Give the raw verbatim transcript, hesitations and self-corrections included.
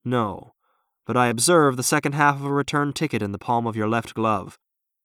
No, but I observe the second half of a return ticket in the palm of your left glove.